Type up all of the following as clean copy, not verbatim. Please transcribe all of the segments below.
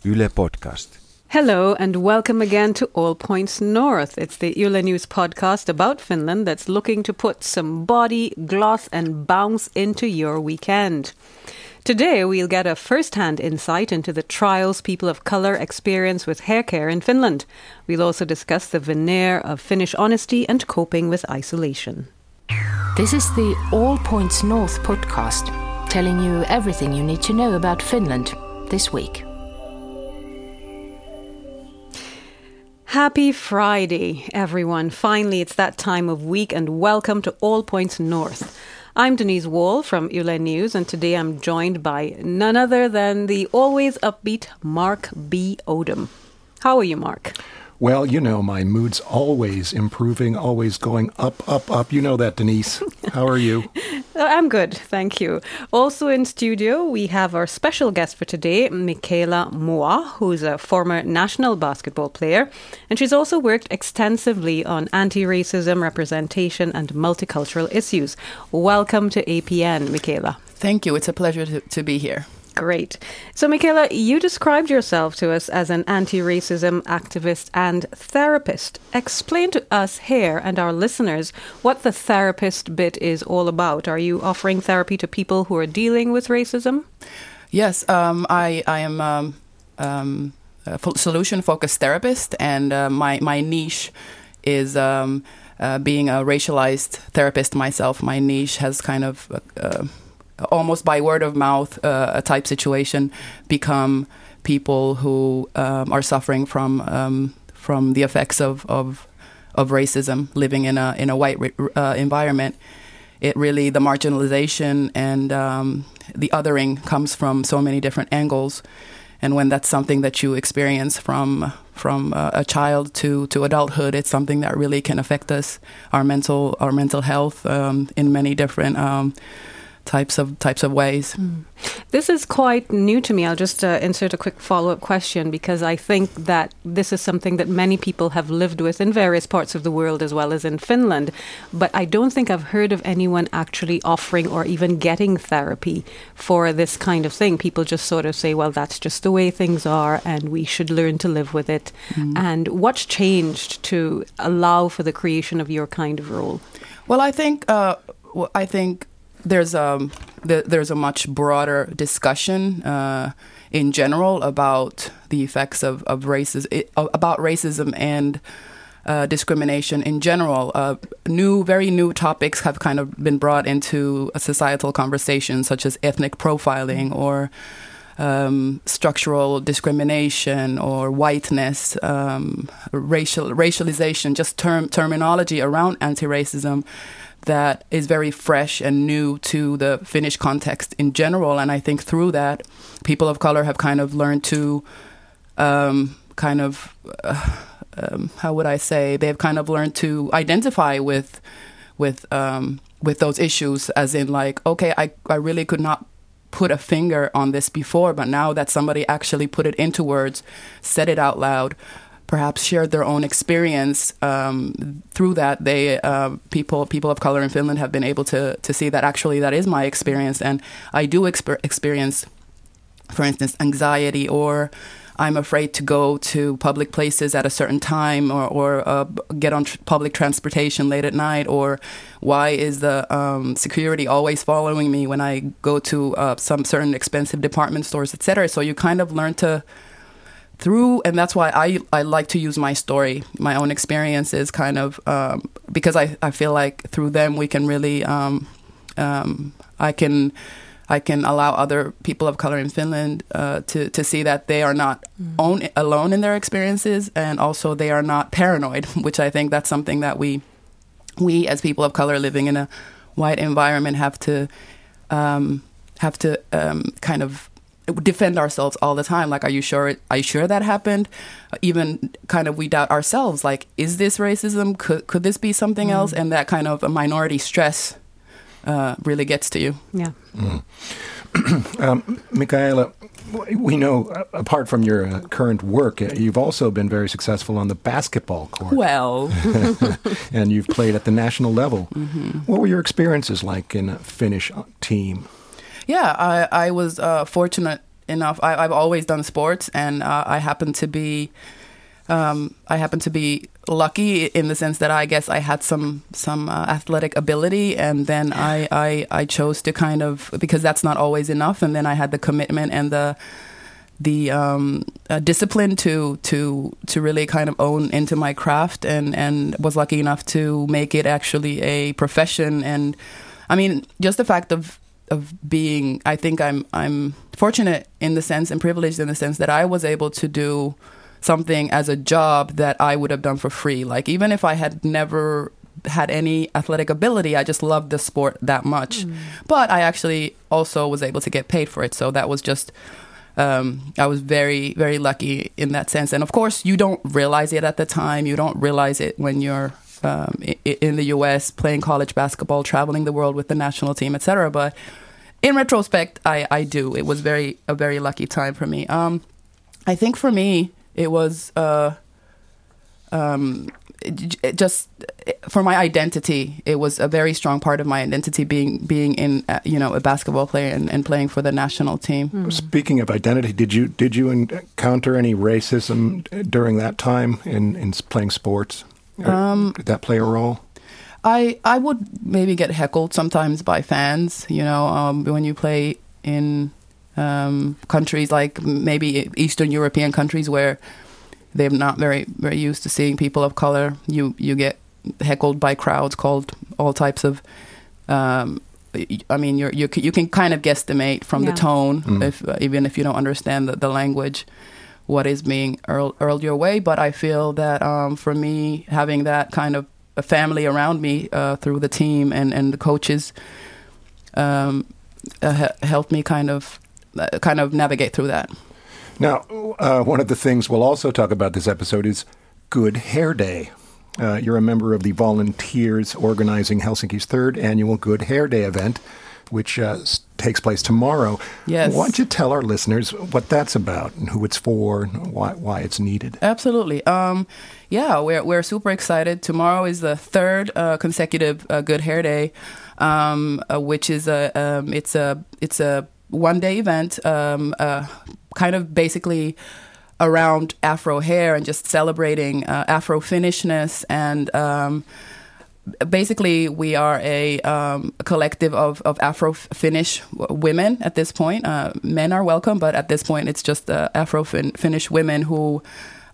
Yle Podcast. Hello and welcome again to All Points North. It's the Yle News podcast about Finland that's looking to put some body, gloss and bounce into your weekend. Today we'll get a first-hand insight into the trials people of colour experience with hair care in Finland. We'll also discuss the veneer of Finnish honesty and coping with isolation. This is the All Points North podcast, telling you everything you need to know about Finland this week. Happy Friday, everyone. Finally, it's that time of week and welcome to All Points North. I'm Denise Wall from Yle News and today I'm joined by none other than the always upbeat Mark B. Odom. How are you, Mark? Well, you know, my mood's always improving, always going up, up, up. You know that, Denise. How are you? I'm good, thank you. Also in studio, we have our special guest for today, Michaela Moa, who's a former national basketball player. And she's also worked extensively on anti-racism, representation and multicultural issues. Welcome to APN, Michaela. Thank you. It's a pleasure to be here. Great. So, Michaela, you described yourself to us as an anti-racism activist and therapist. Explain to us here and our listeners what the therapist bit is all about. Are you offering therapy to people who are dealing with racism? Yes, I am a solution-focused therapist, and my niche is being a racialized therapist myself. My niche has kind of almost by word of mouth, a type situation, become people who are suffering from the effects of racism, living in a white environment. It really, the marginalization and the othering comes from so many different angles, and when that's something that you experience from a child to adulthood, it's something that really can affect us, our mental health in many different types of ways. This is quite new to me. I'll just insert a quick follow-up question because I think that this is something that many people have lived with in various parts of the world as well as in Finland. But I don't think I've heard of anyone actually offering or even getting therapy for this kind of thing. People just sort of say, well, that's just the way things are and we should learn to live with it. And what's changed to allow for the creation of your kind of role? Well, I think there's a much broader discussion in general about the effects of racism and discrimination in general. Very new topics have kind of been brought into a societal conversation, such as ethnic profiling or structural discrimination or whiteness, racialization, just terminology around anti-racism that is very fresh and new to the Finnish context in general. And I think through that, people of color have kind of learned to how would I say, they've kind of learned to identify with those issues, as in like, okay, I really could not put a finger on this before, but now that somebody actually put it into words, said it out loud, perhaps shared their own experience, through that, people of color in Finland have been able to see that actually that is my experience, and I do experience, for instance, anxiety, or I'm afraid to go to public places at a certain time, or get on public transportation late at night, or why is the security always following me when I go to some certain expensive department stores, etc. So you kind of learn to and that's why I like to use my story, my own experiences, kind of because I feel like through them we can really I can allow other people of color in Finland to see that they are not alone in their experiences, and also they are not paranoid, which I think that's something that we as people of color living in a white environment have to kind of defend ourselves all the time. Like, are you sure that happened? Even kind of we doubt ourselves, like, is this racism? Could this be something else? And that kind of a minority stress really gets to you. Yeah. Michaela, we know, apart from your current work, you've also been very successful on the basketball court. Well. And you've played at the national level. Mm-hmm. What were your experiences like in a Finnish team? Yeah, I was fortunate enough. I've always done sports, and I happen to be lucky in the sense that I guess I had some athletic ability, and then I chose to kind of, because that's not always enough, and then I had the commitment and the discipline to really kind of own into my craft, and was lucky enough to make it actually a profession. And I mean, just the fact of being, I think I'm fortunate in the sense, and privileged in the sense that I was able to do something as a job that I would have done for free. Like, even if I had never had any athletic ability, I just loved the sport that much. But I actually also was able to get paid for it. So that was just, I was very, very lucky in that sense. And of course, you don't realize it at the time. You don't realize it when you're in the US playing college basketball, traveling the world with the national team, etc. But in retrospect, I do. It was a very lucky time for me. I think for me, it was just for my identity. It was a very strong part of my identity being in a basketball player and playing for the national team. Speaking of identity, did you encounter any racism during that time in playing sports? Did that play a role? I would maybe get heckled sometimes by fans. When you play in countries like maybe Eastern European countries where they're not very, very used to seeing people of color, you get heckled by crowds, called all types of. I mean, you can kind of guesstimate from the tone, even if you don't understand the language, what is being hurled your way. But I feel that for me, having that kind of a family around me through the team and the coaches helped me kind of navigate through that. Now, one of the things we'll also talk about this episode is Good Hair Day. You're a member of the volunteers organizing Helsinki's third annual Good Hair Day event, which takes place tomorrow. Yes. Why don't you tell our listeners what that's about and who it's for and why it's needed? Absolutely. We're super excited. Tomorrow is the third consecutive Good Hair Day, which is it's a one-day event, kind of basically around Afro hair and just celebrating Afro-Finnishness. And basically, we are a collective of Afro-Finnish women at this point. Men are welcome, but at this point, it's just Afro-Finnish women who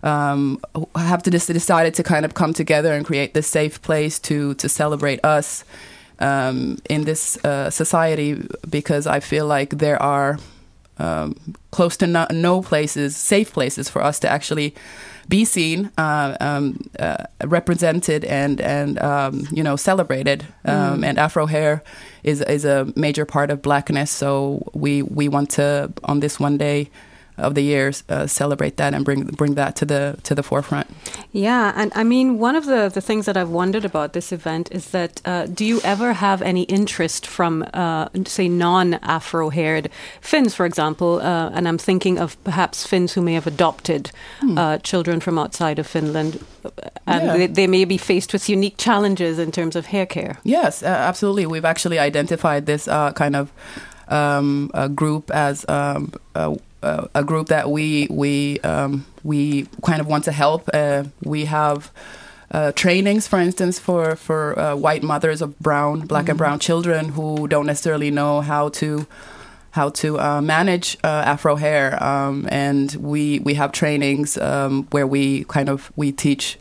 have decided to kind of come together and create this safe place to celebrate us in this society, because I feel like there are close to no places, safe places for us to actually be seen, represented, and celebrated. And Afro hair is a major part of Blackness, so we want to, on this one day of the years, celebrate that and bring that to the forefront. Yeah, and I mean, one of the things that I've wondered about this event is that do you ever have any interest from, say, non-Afro-haired Finns, for example, and I'm thinking of perhaps Finns who may have adopted children from outside of Finland, and they may be faced with unique challenges in terms of hair care. Yes, absolutely. We've actually identified this kind of a group as a group that we kind of want to help. We have trainings, for instance, for white mothers of black and brown children who don't necessarily know how to manage Afro hair, and we have trainings where we teach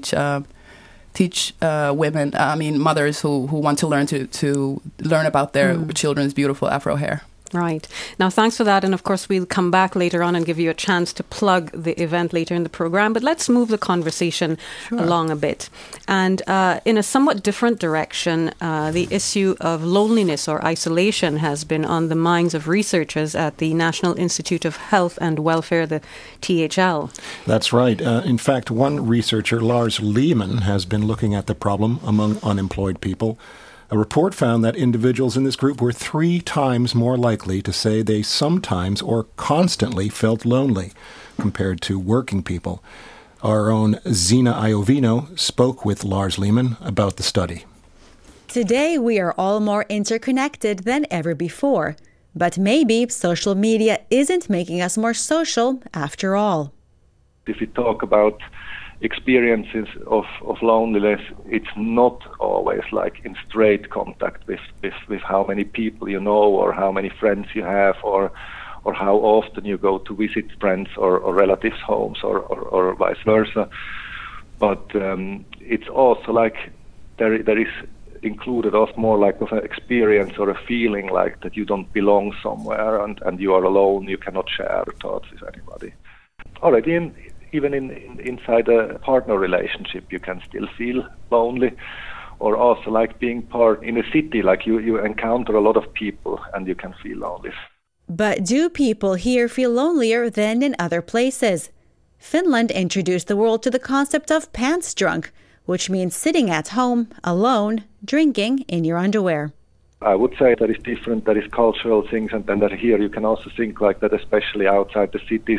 women, mothers who want to learn about their children's beautiful Afro hair. Right. Now, thanks for that. And of course, we'll come back later on and give you a chance to plug the event later in the program. But let's move the conversation along a bit. And in a somewhat different direction, the issue of loneliness or isolation has been on the minds of researchers at the National Institute of Health and Welfare, the THL. That's right. In fact, one researcher, Lars Lehmann, has been looking at the problem among unemployed people. A report found that individuals in this group were 3 times more likely to say they sometimes or constantly felt lonely compared to working people. Our own Zina Iovino spoke with Lars Lehmann about the study. Today, we are all more interconnected than ever before. But maybe social media isn't making us more social after all. If we talk about experiences of loneliness, it's not always like in straight contact with how many people you know or how many friends you have or how often you go to visit friends or relatives' homes or vice versa. But it's also like there is included also more like of an experience or a feeling like that you don't belong somewhere and you are alone, you cannot share thoughts with anybody. Already even inside a partner relationship you can still feel lonely, or also like being part in a city, like you encounter a lot of people and you can feel lonely. But do people here feel lonelier than in other places? Finland introduced the world to the concept of pants drunk, which means sitting at home, alone, drinking in your underwear. I would say that is different, that is cultural things, and then that here you can also think like that, especially outside the cities,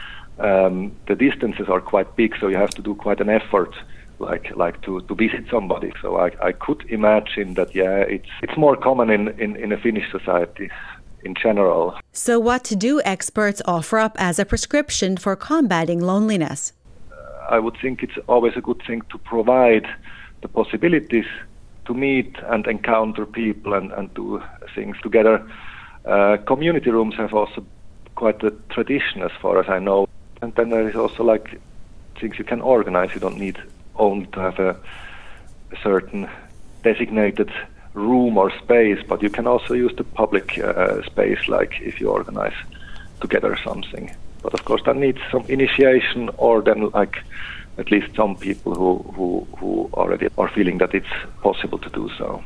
the distances are quite big, so you have to do quite an effort, like to visit somebody. So I could imagine that, it's more common in a Finnish society in general. So what do experts offer up as a prescription for combating loneliness? I would think it's always a good thing to provide the possibilities to meet and encounter people and do things together. Community rooms have also quite a tradition as far as I know. And then there is also like things you can organize. You don't need only to have a certain designated room or space, but you can also use the public space, like if you organize together something. But of course that needs some initiation, or then like at least some people who already are feeling that it's possible to do so.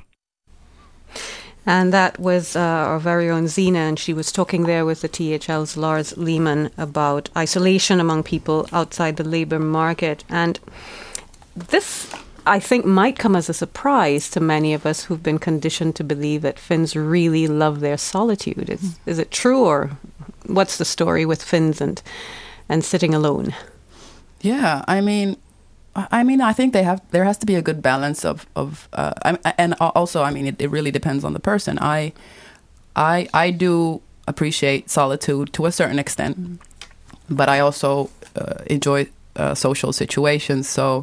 And that was our very own Zina, and she was talking there with the THL's Lars Lehmann about isolation among people outside the labour market. And this, I think, might come as a surprise to many of us who've been conditioned to believe that Finns really love their solitude. Is it true, or what's the story with Finns and sitting alone? Yeah, I mean, I think there has to be a good balance of and also, I mean, it really depends on the person. I do appreciate solitude to a certain extent, but I also enjoy social situations. So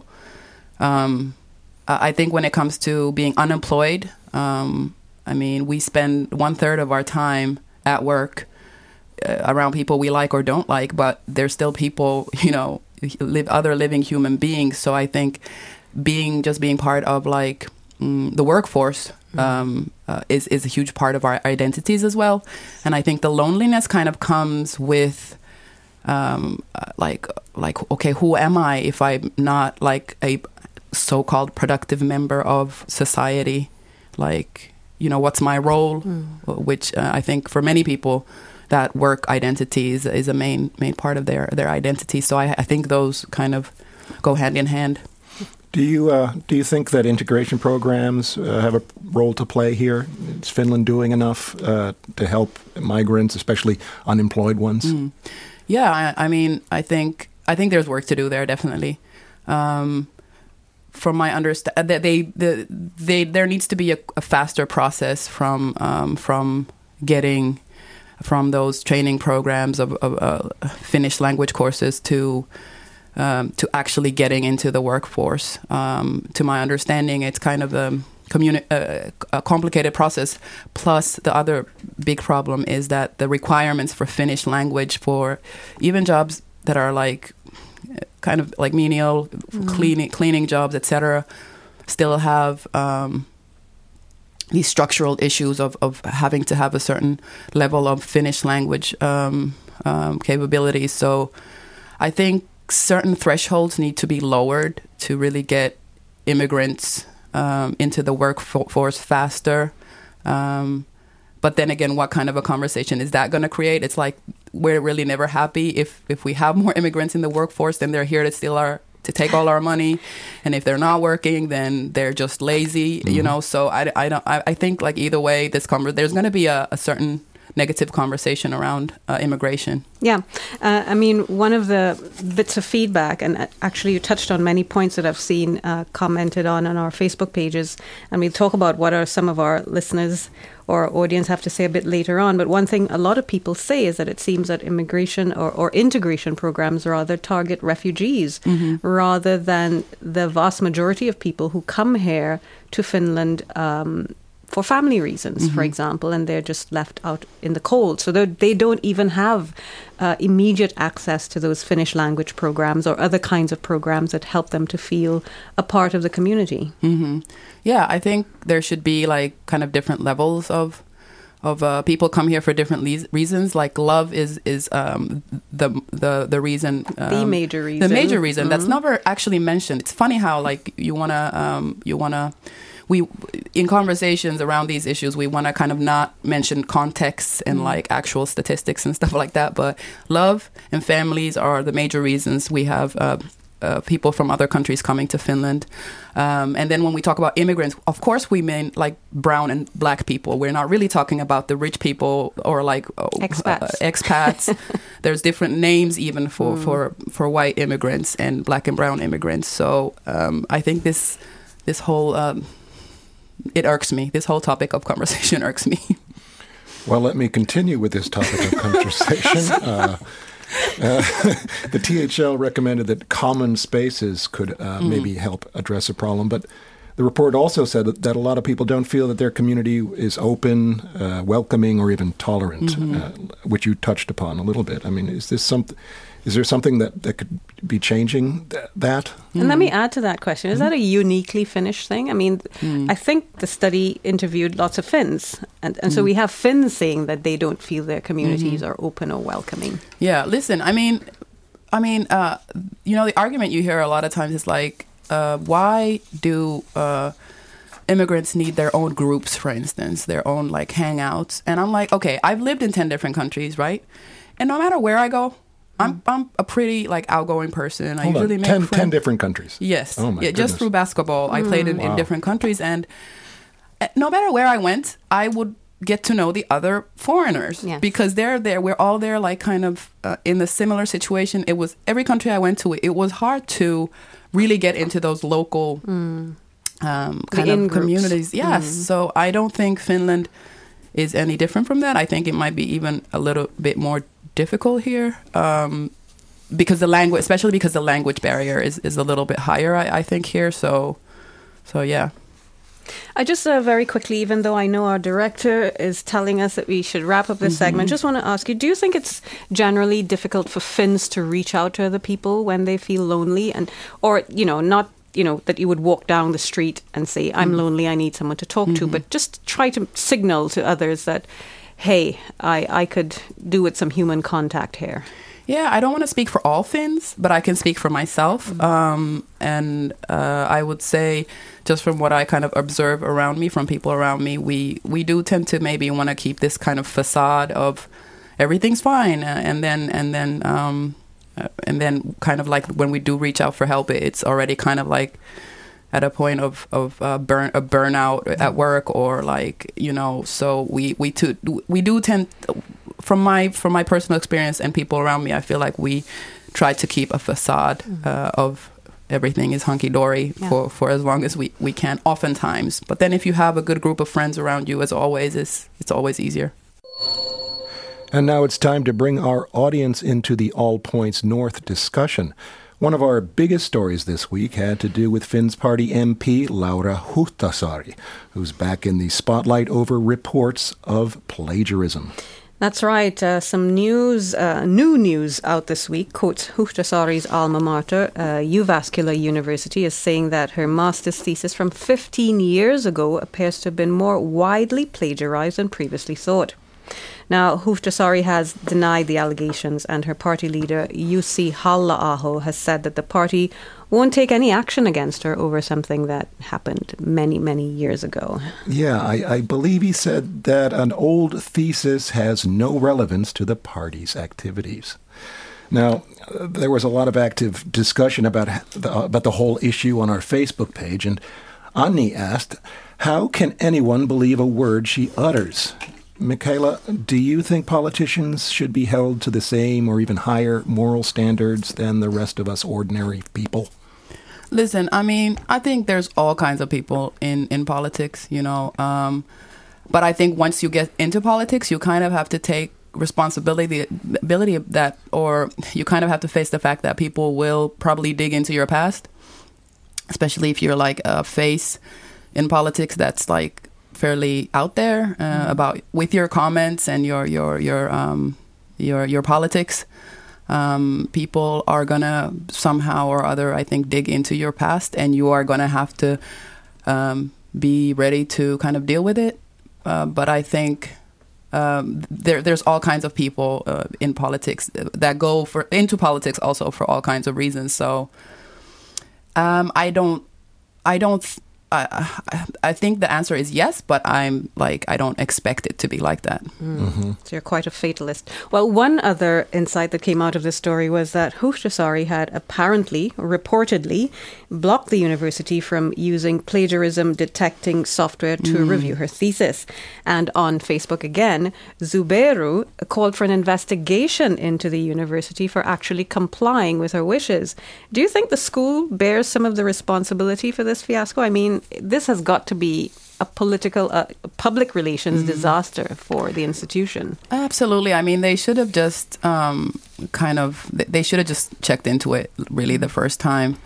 I think when it comes to being unemployed, I mean, we spend 1/3 of our time at work around people we like or don't like, but there's still people, other living human beings. So I think being part of like the workforce is a huge part of our identities as well. And I think the loneliness kind of comes with like okay, who am I if I'm not like a so-called productive member of society? Like, what's my role? Which I think for many people, that work identity is a main part of their identity. So I think those kind of go hand in hand. Do you think that integration programs have a role to play here? Is Finland doing enough to help migrants, especially unemployed ones? Yeah, I mean, I think there's work to do there, definitely. From my understanding, there needs to be a faster process from getting from those training programs of Finnish language courses to actually getting into the workforce. To my understanding, it's kind of a complicated process. Plus, the other big problem is that the requirements for Finnish language for even jobs that are like kind of like menial cleaning jobs, etc., still have these structural issues of having to have a certain level of Finnish language capabilities. So I think certain thresholds need to be lowered to really get immigrants into the workforce faster. But then again, what kind of a conversation is that going to create? It's like we're really never happy if we have more immigrants in the workforce, then they're here to steal to take all our money, and if they're not working, then they're just lazy, So I think like either way, there's going to be a certain negative conversation around immigration. Yeah. I mean, one of the bits of feedback, and actually you touched on many points that I've seen commented on our Facebook pages, and we'll talk about what are some of our listeners or audience have to say a bit later on. But one thing a lot of people say is that it seems that immigration or integration programs rather target refugees rather than the vast majority of people who come here to Finland for family reasons, for example, and they're just left out in the cold. So they don't even have immediate access to those Finnish language programs or other kinds of programs that help them to feel a part of the community. Yeah, I think there should be like kind of different levels of people come here for different reasons. Like love is the reason, the major reason. The major reason that's never actually mentioned. It's funny how like you wanna. We, in conversations around these issues, we want to kind of not mention context and like actual statistics and stuff like that. But love and families are the major reasons we have people from other countries coming to Finland. And then when we talk about immigrants, of course we mean like brown and black people. We're not really talking about the rich people or like expats. There's different names even for white immigrants and black and brown immigrants. So I think this whole... it irks me. This whole topic of conversation irks me. Well, let me continue with this topic of conversation. The THL recommended that common spaces could maybe help address a problem, but the report also said that a lot of people don't feel that their community is open, welcoming, or even tolerant, which you touched upon a little bit. I mean, is there something that could be changing that? And let me add to that question. Is that a uniquely Finnish thing? I mean, I think the study interviewed lots of Finns. And so we have Finns saying that they don't feel their communities are open or welcoming. Yeah, listen, I mean, the argument you hear a lot of times is like, why do immigrants need their own groups, for instance, their own like hangouts? And I'm like, okay, I've lived in 10 different countries, right? And no matter where I go, I'm a pretty like outgoing person. I usually make friends. 10 different countries. Yes. Oh my goodness. Just through basketball, I played in different countries, and no matter where I went, I would get to know the other foreigners because they're there. We're all there, like kind of in the similar situation. It was every country I went to. It was hard to really get into those local kind of communities. Yes. So I don't think Finland is any different from that. I think it might be even a little bit more difficult here because the language, especially because the language barrier is a little bit higher, I think here. So yeah. I just very quickly, even though I know our director is telling us that we should wrap up this segment, just want to ask you, do you think it's generally difficult for Finns to reach out to other people when they feel lonely, or not that you would walk down the street and say, I'm lonely, I need someone to talk to, but just try to signal to others that, hey, I could do with some human contact here? Yeah, I don't want to speak for all Finns, but I can speak for myself. And I would say, just from what I kind of observe around me, from people around me, we do tend to maybe want to keep this kind of facade of everything's fine, and then kind of like when we do reach out for help, it's already kind of like at a point of burnout at work, or like So we do tend. From my personal experience and people around me, I feel like we try to keep a facade of everything is hunky-dory for as long as we can, oftentimes. But then if you have a good group of friends around you, as always, it's always easier. And now it's time to bring our audience into the All Points North discussion. One of our biggest stories this week had to do with Finns Party MP Laura Huhtasaari, who's back in the spotlight over reports of plagiarism. That's right. Some news, new news out this week. Quotes Huhtasaari's alma mater, Jyväskylä University, is saying that her master's thesis from 15 years ago appears to have been more widely plagiarized than previously thought. Now, Huhtasaari has denied the allegations, and her party leader, Jussi Halla-aho, has said that the party won't take any action against her over something that happened many, many years ago. Yeah, I believe he said that an old thesis has no relevance to the party's activities. Now, there was a lot of active discussion about the whole issue on our Facebook page, and Anni asked, how can anyone believe a word she utters? Michaela, do you think politicians should be held to the same or even higher moral standards than the rest of us ordinary people? Listen, I mean, I think there's all kinds of people in politics, you know. But I think once you get into politics, you kind of have to take responsibility of that, or you kind of have to face the fact that people will probably dig into your past, especially if you're like a face in politics that's like fairly out there about with your comments and your politics. People are gonna somehow or other, I think, dig into your past, and you are gonna have to be ready to kind of deal with it. But I think there's all kinds of people in politics that go into politics also for all kinds of reasons. So I think the answer is yes, but I don't expect it to be like that. Mm-hmm. So you're quite a fatalist. Well, one other insight that came out of this story was that Huhtasaari had reportedly, blocked the university from using plagiarism detecting software to review her thesis. And on Facebook again, Zubeiru called for an investigation into the university for actually complying with her wishes. Do you think the school bears some of the responsibility for this fiasco? I mean, this has got to be a public relations disaster for the institution. Absolutely. I mean, they should have just they should have just checked into it really the first time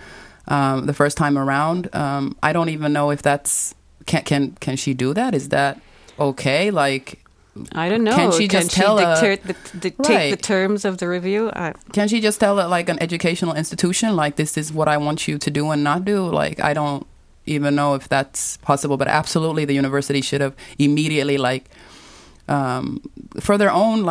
around. I don't even know if that's can she do that? Is that okay? Like, I don't know. Can she dictate the terms of the review? Can she just tell like an educational institution, like, this is what I want you to do and not do? Like, I don't even know if that's possible, but absolutely the university should have immediately, like, for their own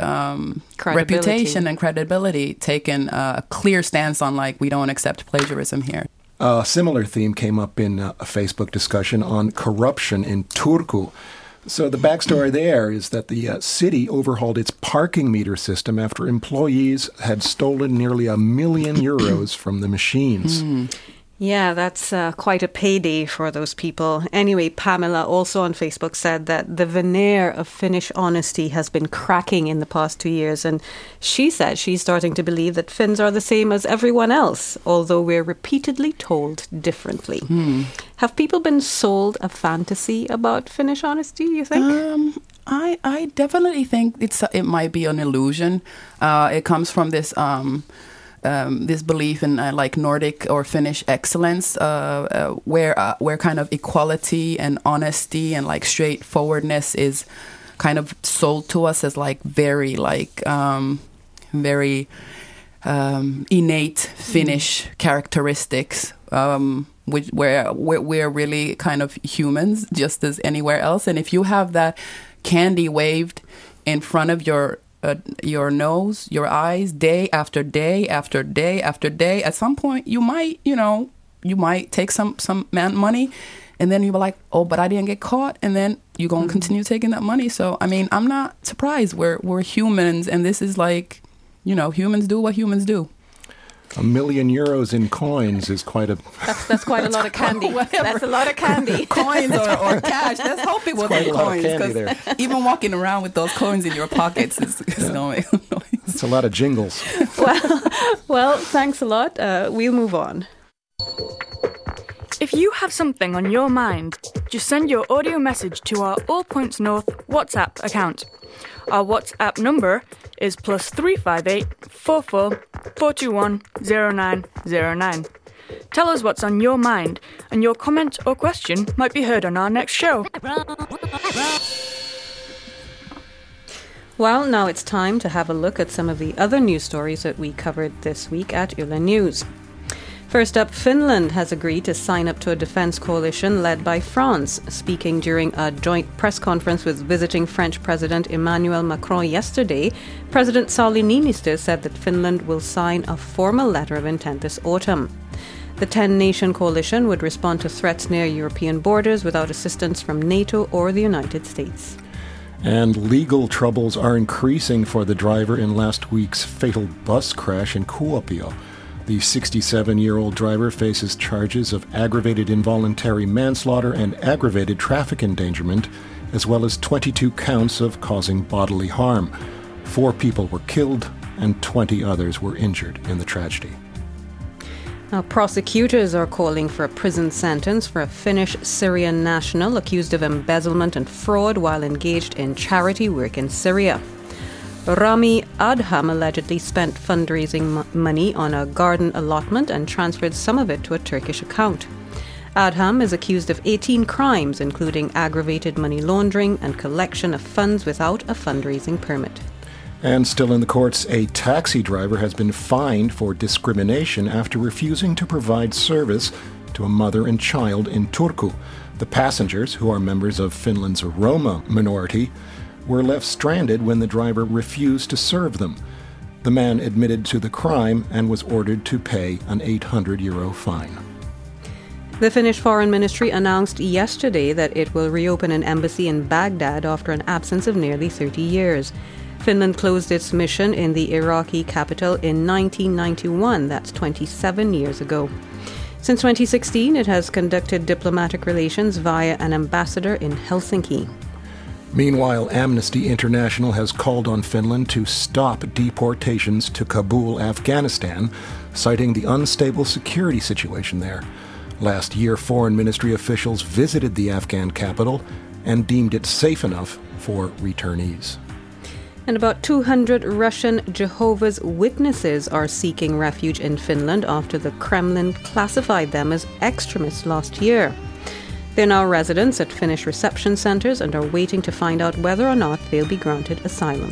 reputation and credibility, taken a clear stance on, like, we don't accept plagiarism here. A similar theme came up in a Facebook discussion on corruption in Turku. So the backstory there is that the city overhauled its parking meter system after employees had stolen nearly €1 million from the machines. Yeah, that's quite a payday for those people. Anyway, Pamela also on Facebook said that the veneer of Finnish honesty has been cracking in the past 2 years. And she said she's starting to believe that Finns are the same as everyone else, although we're repeatedly told differently. Have people been sold a fantasy about Finnish honesty, you think? I definitely think it might be an illusion. It comes from this this belief in like Nordic or Finnish excellence, where kind of equality and honesty and like straightforwardness is kind of sold to us as like very innate Finnish characteristics, where we're really kind of humans just as anywhere else. And if you have that candy waved in front of your nose, your eyes, day after day after day after day, at some point you might take some money, and then you're like, oh, but I didn't get caught, and then you're going to continue taking that money. So I mean, I'm not surprised. We're humans, and this is like, humans do what humans do. €1 million in coins is quite a... That's quite a lot of candy. That's a lot of candy. Coins or cash. Let's hope it wasn't coins. Because even walking around with those coins in your pockets is going to make a noise. It's a lot of jingles. Well, thanks a lot. We'll move on. If you have something on your mind, just send your audio message to our All Points North WhatsApp account. Our WhatsApp number is +358 44 421 0909. Tell us what's on your mind, and your comment or question might be heard on our next show. Well, now it's time to have a look at some of the other news stories that we covered this week at Yle News. First up, Finland has agreed to sign up to a defense coalition led by France. Speaking during a joint press conference with visiting French President Emmanuel Macron yesterday, President Sauli Niinistö said that Finland will sign a formal letter of intent this autumn. The 10-nation coalition would respond to threats near European borders without assistance from NATO or the United States. And legal troubles are increasing for the driver in last week's fatal bus crash in Kuopio. The 67-year-old driver faces charges of aggravated involuntary manslaughter and aggravated traffic endangerment as well as 22 counts of causing bodily harm. 4 people were killed and 20 others were injured in the tragedy. Now, prosecutors are calling for a prison sentence for a Finnish Syrian national accused of embezzlement and fraud while engaged in charity work in Syria. Rami Adham allegedly spent fundraising money on a garden allotment and transferred some of it to a Turkish account. Adham is accused of 18 crimes, including aggravated money laundering and collection of funds without a fundraising permit. And still in the courts, a taxi driver has been fined for discrimination after refusing to provide service to a mother and child in Turku. The passengers, who are members of Finland's Roma minority, were left stranded when the driver refused to serve them. The man admitted to the crime and was ordered to pay an €800 fine. The Finnish Foreign Ministry announced yesterday that it will reopen an embassy in Baghdad after an absence of nearly 30 years. Finland closed its mission in the Iraqi capital in 1991, that's 27 years ago. Since 2016, it has conducted diplomatic relations via an ambassador in Helsinki. Meanwhile, Amnesty International has called on Finland to stop deportations to Kabul, Afghanistan, citing the unstable security situation there. Last year, foreign ministry officials visited the Afghan capital and deemed it safe enough for returnees. And about 200 Russian Jehovah's Witnesses are seeking refuge in Finland after the Kremlin classified them as extremists last year. They're now residents at Finnish reception centres and are waiting to find out whether or not they'll be granted asylum.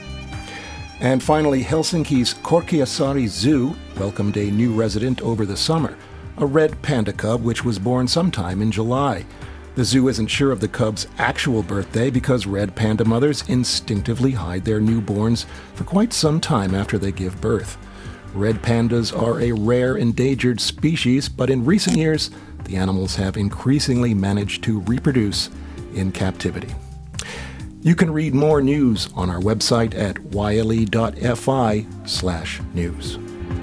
And finally, Helsinki's Korkeasaari Zoo welcomed a new resident over the summer, a red panda cub which was born sometime in July. The zoo isn't sure of the cub's actual birthday because red panda mothers instinctively hide their newborns for quite some time after they give birth. Red pandas are a rare endangered species, but in recent years, the animals have increasingly managed to reproduce in captivity. You can read more news on our website at yle.fi/news.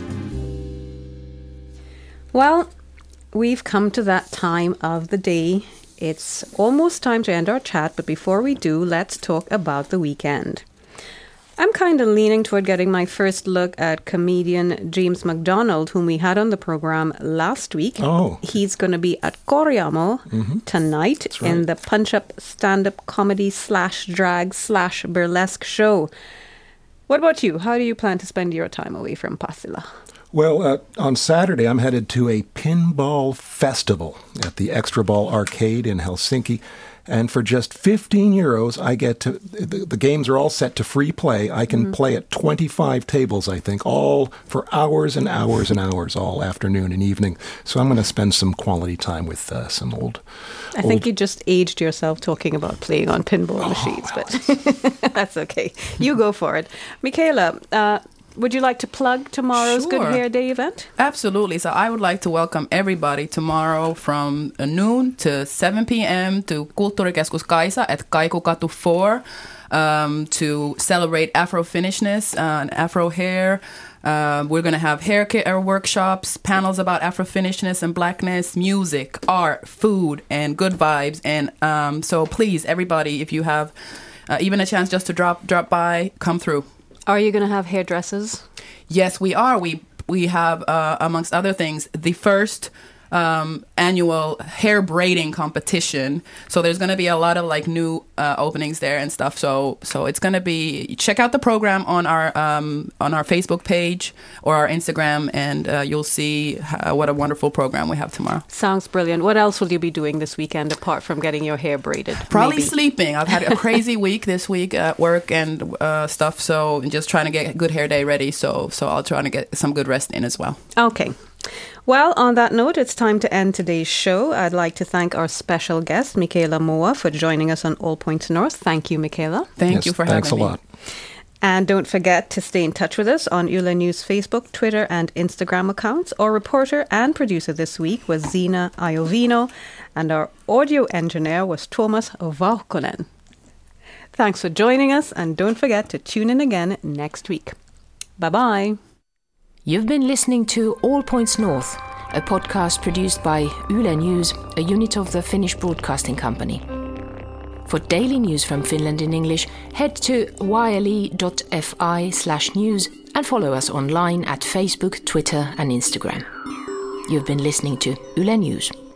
Well, we've come to that time of the day. It's almost time to end our chat, but before we do, let's talk about the weekend. I'm kind of leaning toward getting my first look at comedian James McDonald, whom we had on the program last week. Oh. He's going to be at Korjaamo tonight in the Punch-Up stand-up comedy /drag/burlesque show. What about you? How do you plan to spend your time away from Pasila? Well, on Saturday, I'm headed to a pinball festival at the Extra Ball Arcade in Helsinki. And for just €15, I get to, the games are all set to free play. I can play at 25 tables, I think, all for hours and hours and hours, all afternoon and evening. So I'm going to spend some quality time with some old... I think you just aged yourself talking about playing on pinball machines, but that's okay. You go for it. Michaela, would you like to plug tomorrow's Good Hair Day event? Absolutely. So I would like to welcome everybody tomorrow from noon to 7 p.m. to Kulttuurikeskus Kaisa at Kaikukatu 4 to celebrate Afro-Finnishness and Afro hair. We're going to have hair care workshops, panels about Afro-Finnishness and blackness, music, art, food, and good vibes. And so please, everybody, if you have even a chance just to drop by, come through. Are you going to have hairdressers? Yes, we are. We have, amongst other things, the first annual hair braiding competition. So there's going to be a lot of like new openings there and stuff. So it's going to be, check out the program on our Facebook page or our Instagram, and you'll see what a wonderful program we have tomorrow. Sounds brilliant. What else will you be doing this weekend apart from getting your hair braided? Probably sleeping. I've had a crazy week this week at work and stuff. So just trying to get a good hair day ready. So I'll try to get some good rest in as well. Okay. Well, on that note, it's time to end today's show. I'd like to thank our special guest, Michaela Moa, for joining us on All Points North. Thank you, Michaela. Thank you for having me. Thanks a lot. And don't forget to stay in touch with us on Yle News Facebook, Twitter and Instagram accounts. Our reporter and producer this week was Zina Iovino, and our audio engineer was Thomas Vauhkonen. Thanks for joining us, and don't forget to tune in again next week. Bye-bye. You've been listening to All Points North, a podcast produced by Yle News, a unit of the Finnish Broadcasting Company. For daily news from Finland in English, head to yle.fi/news and follow us online at Facebook, Twitter and Instagram. You've been listening to Yle News.